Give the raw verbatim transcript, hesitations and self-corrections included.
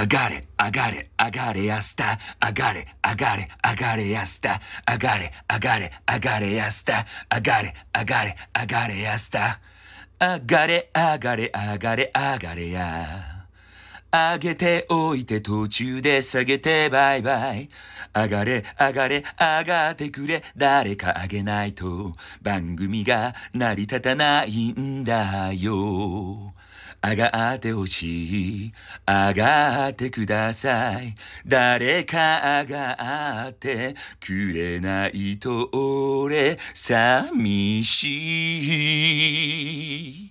上がれ、上がれ、上がれやすた。上がれ、上がれ、上がれやすた。上がれ、上がれ、上がれやすた。上がれ、上がれ、上がれやすた。上がれ、上がれ、上がれ、上がれや。上げておいて途中で下げてバイバイ。上がれ上がれ上がってくれ。誰か上げないと番組が成り立たないんだよ。上がってほしい。上がってください。誰か上がってくれないと俺寂しい。